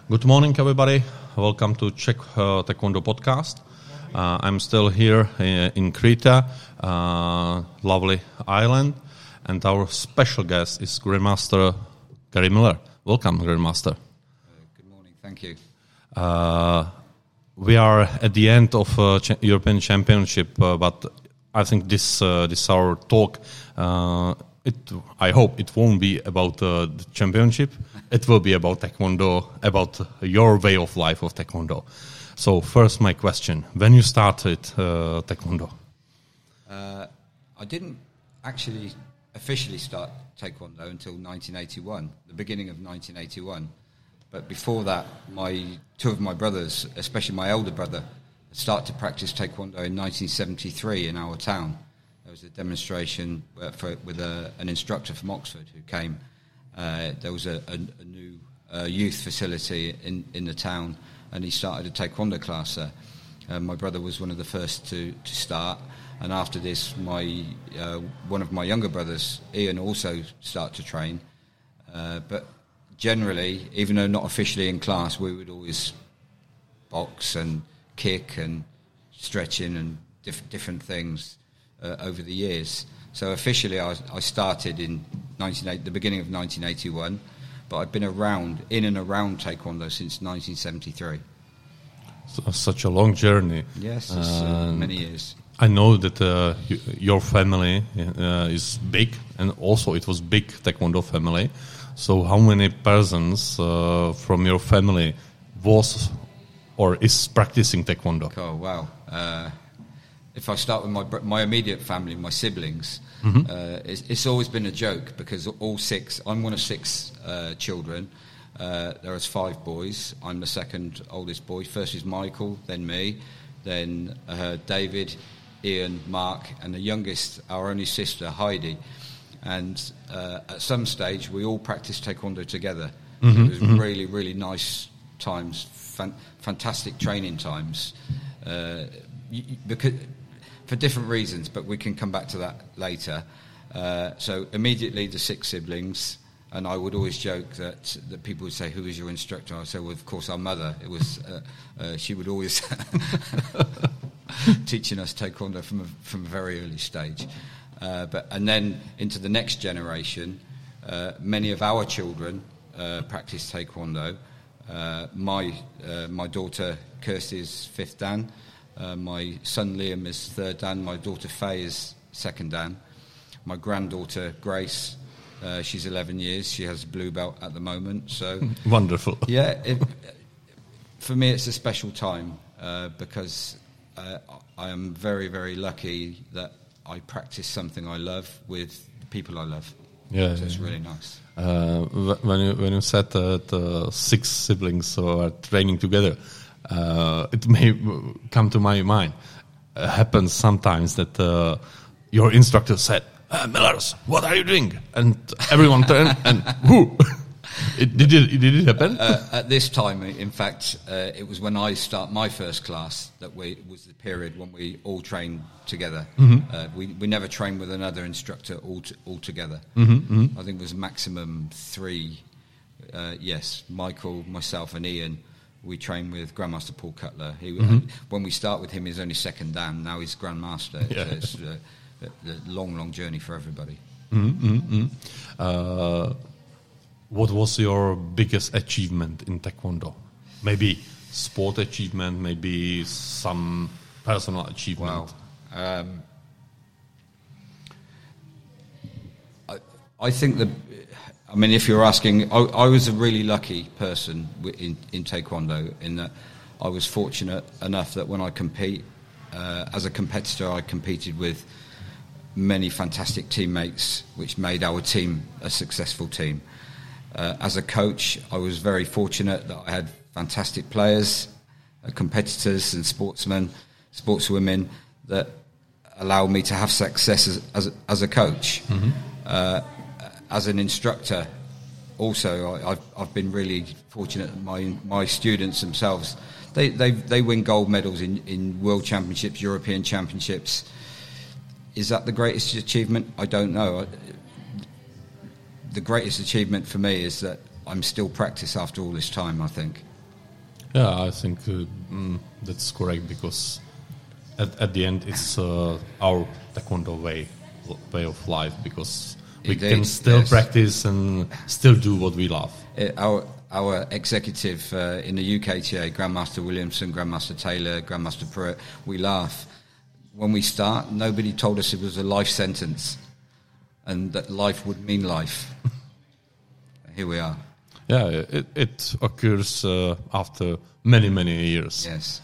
Good morning, everybody. Welcome to Czech Taekwondo podcast. I'm still here in Krita, lovely island, and our special guest is Grandmaster Gary Miller. Welcome, Grandmaster. Good morning. Thank you. We are at the end of European Championship, but I think this our talk. I hope it won't be about the championship. It will be about Taekwondo, about your way of life of Taekwondo. So first, my question: when you started Taekwondo? I didn't actually officially start Taekwondo until 1981, the beginning of 1981. But before that, two of my brothers, especially my elder brother, started to practice Taekwondo in 1973 in our town. There was a demonstration with an instructor from Oxford who came. There was a new youth facility in the town, and he started a Taekwondo class there. My brother was one of the first to start, and after this, one of my younger brothers, Ian, also started to train. But generally, even though not officially in class, we would always box and kick and stretching and different things over the years. So officially I started in the beginning of 1981, but I've been in and around Taekwondo since 1973. So, such a long journey. Yes, it's many years. I know that your family is big, and also it was big Taekwondo family. So how many persons from your family was or is practicing Taekwondo? Oh, wow. If I start with my immediate family, my siblings, it's always been a joke because I'm one of six children. There is 5 boys. I'm the second oldest boy. First is Michael, then me, then David, Ian, Mark, and the youngest, our only sister, Heidi. And at some stage, we all practiced Taekwondo together. It was really, really nice times, fantastic training times. Because for different reasons, but we can come back to that later. So immediately the 6 siblings, and I would always joke that people would say, "Who is your instructor?" I say, "Well, of course, our mother." It was she would always teaching us Taekwondo from a very early stage. And then into the next generation, many of our children practice Taekwondo. My daughter Kirsty is 5th Dan. My son Liam is 3rd Dan. My daughter Faye is 2nd Dan. My granddaughter Grace, she's 11 years. She has a blue belt at the moment. So wonderful. Yeah, for me it's a special time because I am very, very lucky that I practice something I love with the people I love. Yeah, so it's really nice. When you said that 6 siblings are training together, it may come to my mind. It happens sometimes that your instructor said, "Millers, what are you doing?" And everyone turned and who? Did it happen? At this time, in fact, it was when I start my first class that was the period when we all trained together. We never trained with another instructor all together. I think it was maximum 3. Yes, Michael, myself, and Ian. We trained with Grandmaster Paul Cutler. When we start with him, he's only 2nd Dan. Now he's Grandmaster. Yeah. So it's a long, long journey for everybody. What was your biggest achievement in Taekwondo? Maybe sport achievement, maybe some personal achievement. Wow. I think if you're asking, I was a really lucky person in Taekwondo in that I was fortunate enough that when I compete, as a competitor, I competed with many fantastic teammates, which made our team a successful team. As a coach, I was very fortunate that I had fantastic players, competitors and sportswomen that allowed me to have success as a coach. As an instructor, also, I've been really fortunate that my students themselves, they win gold medals in World Championships, European Championships. Is that the greatest achievement? I don't know. The greatest achievement for me is that I'm still practice after all this time, I think. Yeah, I think that's correct, because at the end it's our taekwondo way of life, because we Indeed, can still yes. practice and still do what we love. Our executive in the UKTA, Grandmaster Williamson, Grandmaster Taylor, Grandmaster Pruitt, we laugh. When we start, nobody told us it was a life sentence and that life would mean life. Here we are. Yeah, it occurs after many, many years. Yes.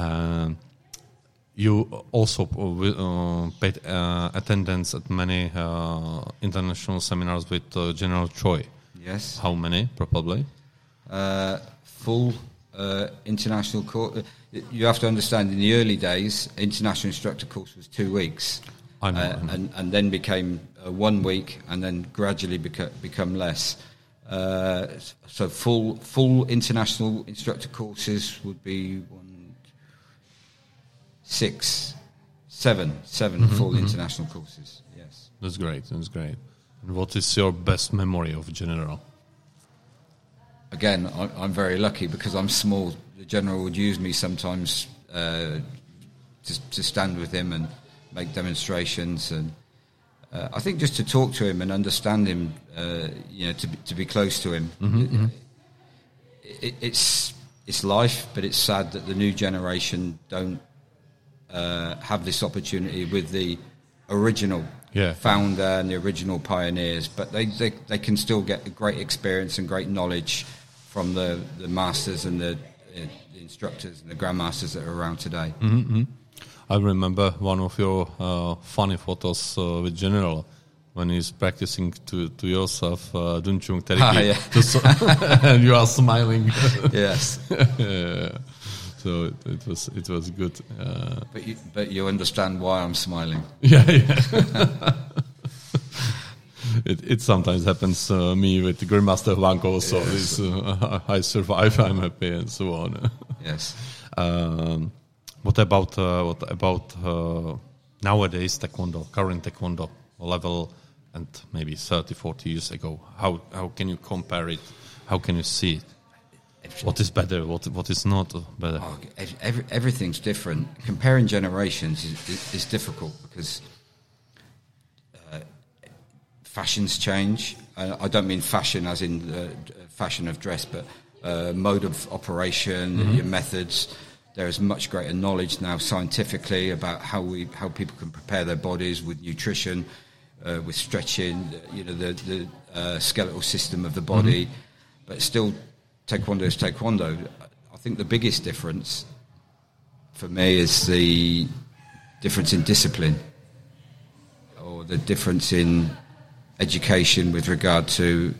You also paid attendance at many international seminars with General Choi. Yes. How many, probably? Full international course. You have to understand, in the early days, international instructor course was 2 weeks. I know. And then became 1 week, and then gradually become less. So full international instructor courses would be 7 full international courses. Yes. That's great. And what is your best memory of General? Again, I'm very lucky because I'm small. The General would use me sometimes to stand with him and make demonstrations, and I think just to talk to him and understand him, to be close to him. Mm-hmm. It's life, but it's sad that the new generation don't have this opportunity with the original founder and the original pioneers, but they can still get a great experience and great knowledge from the masters and the instructors and the grandmasters that are around today. Mm-hmm. I remember one of your funny photos with General when he's practicing to yourself Dun Chung Teriki, and you are smiling. Yes. Yeah. So it was good. But you understand why I'm smiling. Yeah. It sometimes happens me with the Grandmaster Wang also. Yes. I survive, I'm happy, and so on. Yes. What about nowadays taekwondo, current taekwondo level, and maybe 30, 40 years ago? How can you compare it? How can you see it? What is better? What is not better? Oh, everything's different. Comparing generations is difficult because fashions change. I don't mean fashion as in fashion of dress, but mode of operation, your methods. There is much greater knowledge now scientifically about how people can prepare their bodies with nutrition, with stretching, the skeletal system of the body. But still, taekwondo is taekwondo. I think the biggest difference for me is the difference in discipline, or the difference in education with regard to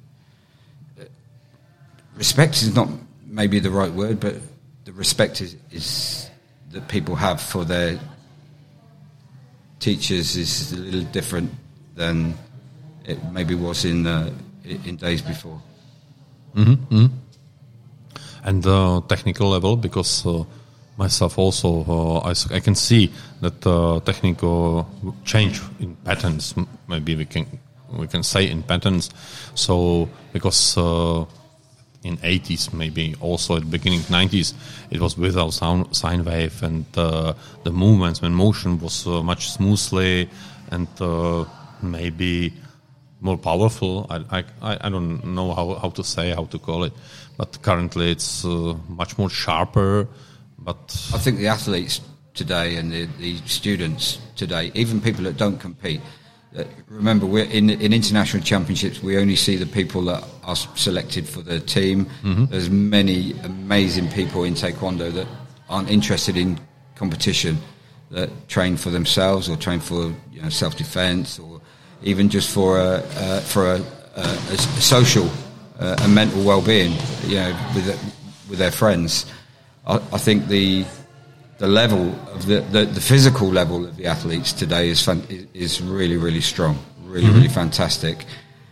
respect is not maybe the right word, but the respect is that people have for their teachers is a little different than it maybe was in days before. Mm-hmm. And technical level, because myself also I can see that technical change in patterns. Maybe we can say in patterns. So because in 80s, maybe also at the beginning 90s, it was without sine wave, and the movements when motion was much smoothly and maybe more powerful. I don't know how to call it, but currently it's much more sharper. But I think the athletes today and the students today, even people that don't compete, remember we're in international championships. We only see the people that are selected for the team. Mm-hmm. There's many amazing people in taekwondo that aren't interested in competition, that train for themselves or train for self-defense, or even just for a social and mental well-being, with their friends. I think the level of the physical level of the athletes today is really, really strong, really, really fantastic.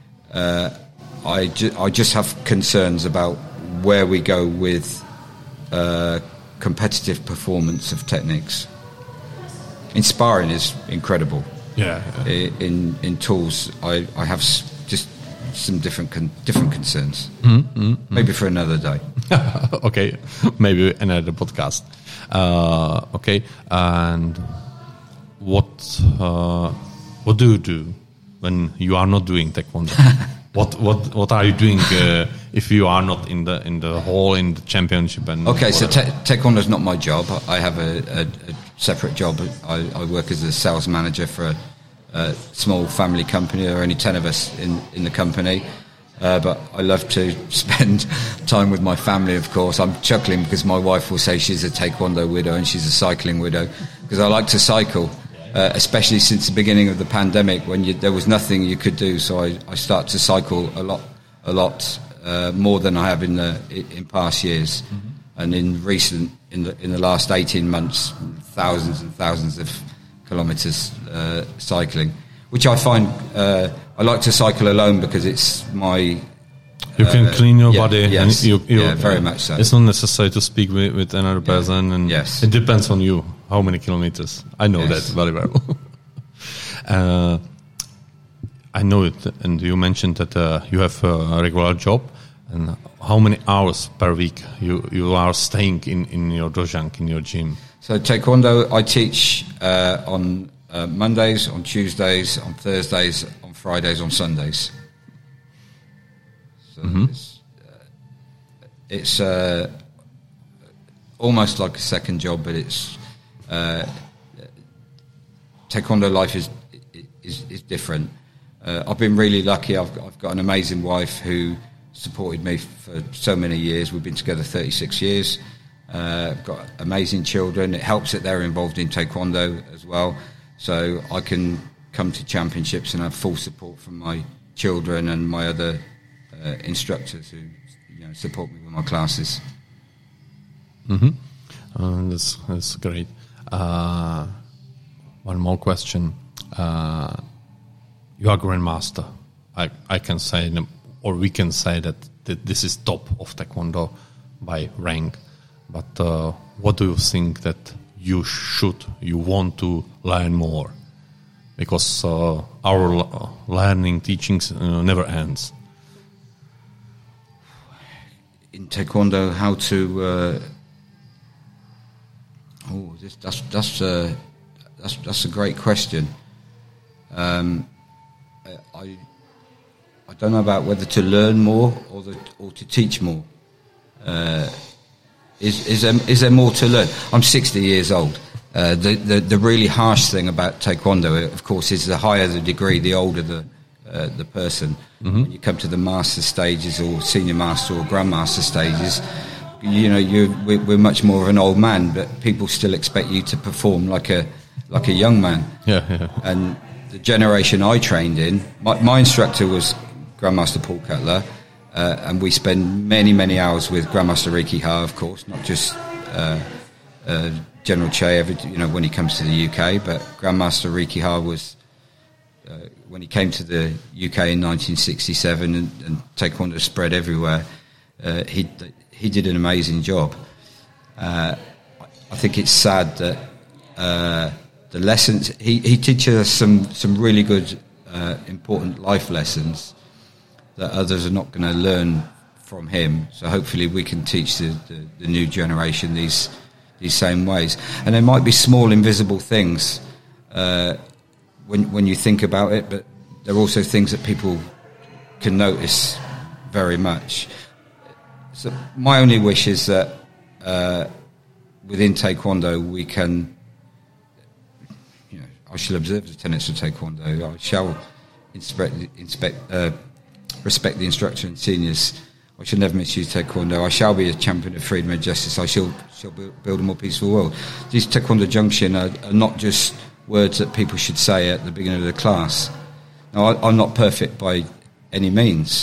I just have concerns about where we go with competitive performance of techniques. Inspiring is incredible. Yeah. In tools, I have just some different concerns. Maybe for another day. Okay, maybe another podcast. Okay, and what do you do when you are not doing taekwondo? What are you doing if you are not in the hall in the championship? And okay, so taekwondo is not my job. I have a separate job. I work as a sales manager for a small family company. There are only 10 of us in the company. But I love to spend time with my family, of course. I'm chuckling because my wife will say she's a taekwondo widow and she's a cycling widow, because I like to cycle, especially since the beginning of the pandemic when there was nothing you could do. So I start to cycle a lot more than I have in past years. And in the last 18 months, thousands and thousands of kilometres cycling, which I find I like to cycle alone because it's my... You can clean your body. Yes, and you very much so. It's not necessary to speak with another person, and yes. It depends on you how many kilometers. I know that very well. I know it, and you mentioned that you have a regular job. And how many hours per week you are staying in your dojang, in your gym? So taekwondo, I teach on Mondays, on Tuesdays, on Thursdays, on Fridays, on Sundays. So it's almost like a second job, but it's taekwondo life is different. I've been really lucky. I've got an amazing wife who supported me for so many years. We've been together 36 years. I've got amazing children. It helps that they're involved in taekwondo as well. So I can come to championships and have full support from my children and my other instructors who support me with my classes. That's great. One more question. You are grandmaster. I can say, or we can say that this is top of taekwondo by rank. But what do you think that you want to learn more? Because our learning, teachings never ends. In taekwondo, how to... that's a great question. I don't know about whether to learn more or to teach more. Is there more to learn? I'm 60 years old. The really harsh thing about taekwondo, of course, is the higher the degree, the older the person. When you come to the master stages or senior master or grandmaster stages, we're much more of an old man, but people still expect you to perform like a young man. Yeah. And the generation I trained in, my instructor was Grandmaster Paul Cutler. And we spend many, many hours with Grandmaster Ricky Ha, of course, not just General Che, when he comes to the UK. But Grandmaster Ricky Ha was, when he came to the UK in 1967 and taekwondo spread everywhere, he did an amazing job. I think it's sad that the lessons, he teaches us some really good, important life lessons that others are not going to learn from him. So hopefully we can teach the new generation these same ways. And there might be small invisible things when you think about it, but there are also things that people can notice very much. So my only wish is that within taekwondo we can, I shall observe the tenets of taekwondo. I shall respect the instructor and seniors. I shall never misuse taekwondo. I shall be a champion of freedom and justice. I shall build a more peaceful world. These taekwondo junction are not just words that people should say at the beginning of the class. Now, I'm not perfect by any means,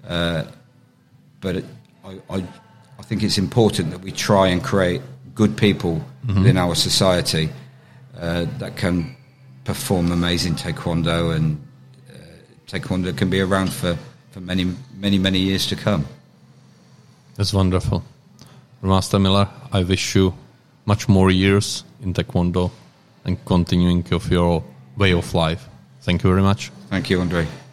but I think it's important that we try and create good people within our society that can perform amazing taekwondo, and taekwondo can be around for many, many, many years to come. That's wonderful. Master Miller, I wish you much more years in taekwondo and continuing of your way of life. Thank you very much. Thank you, Andre.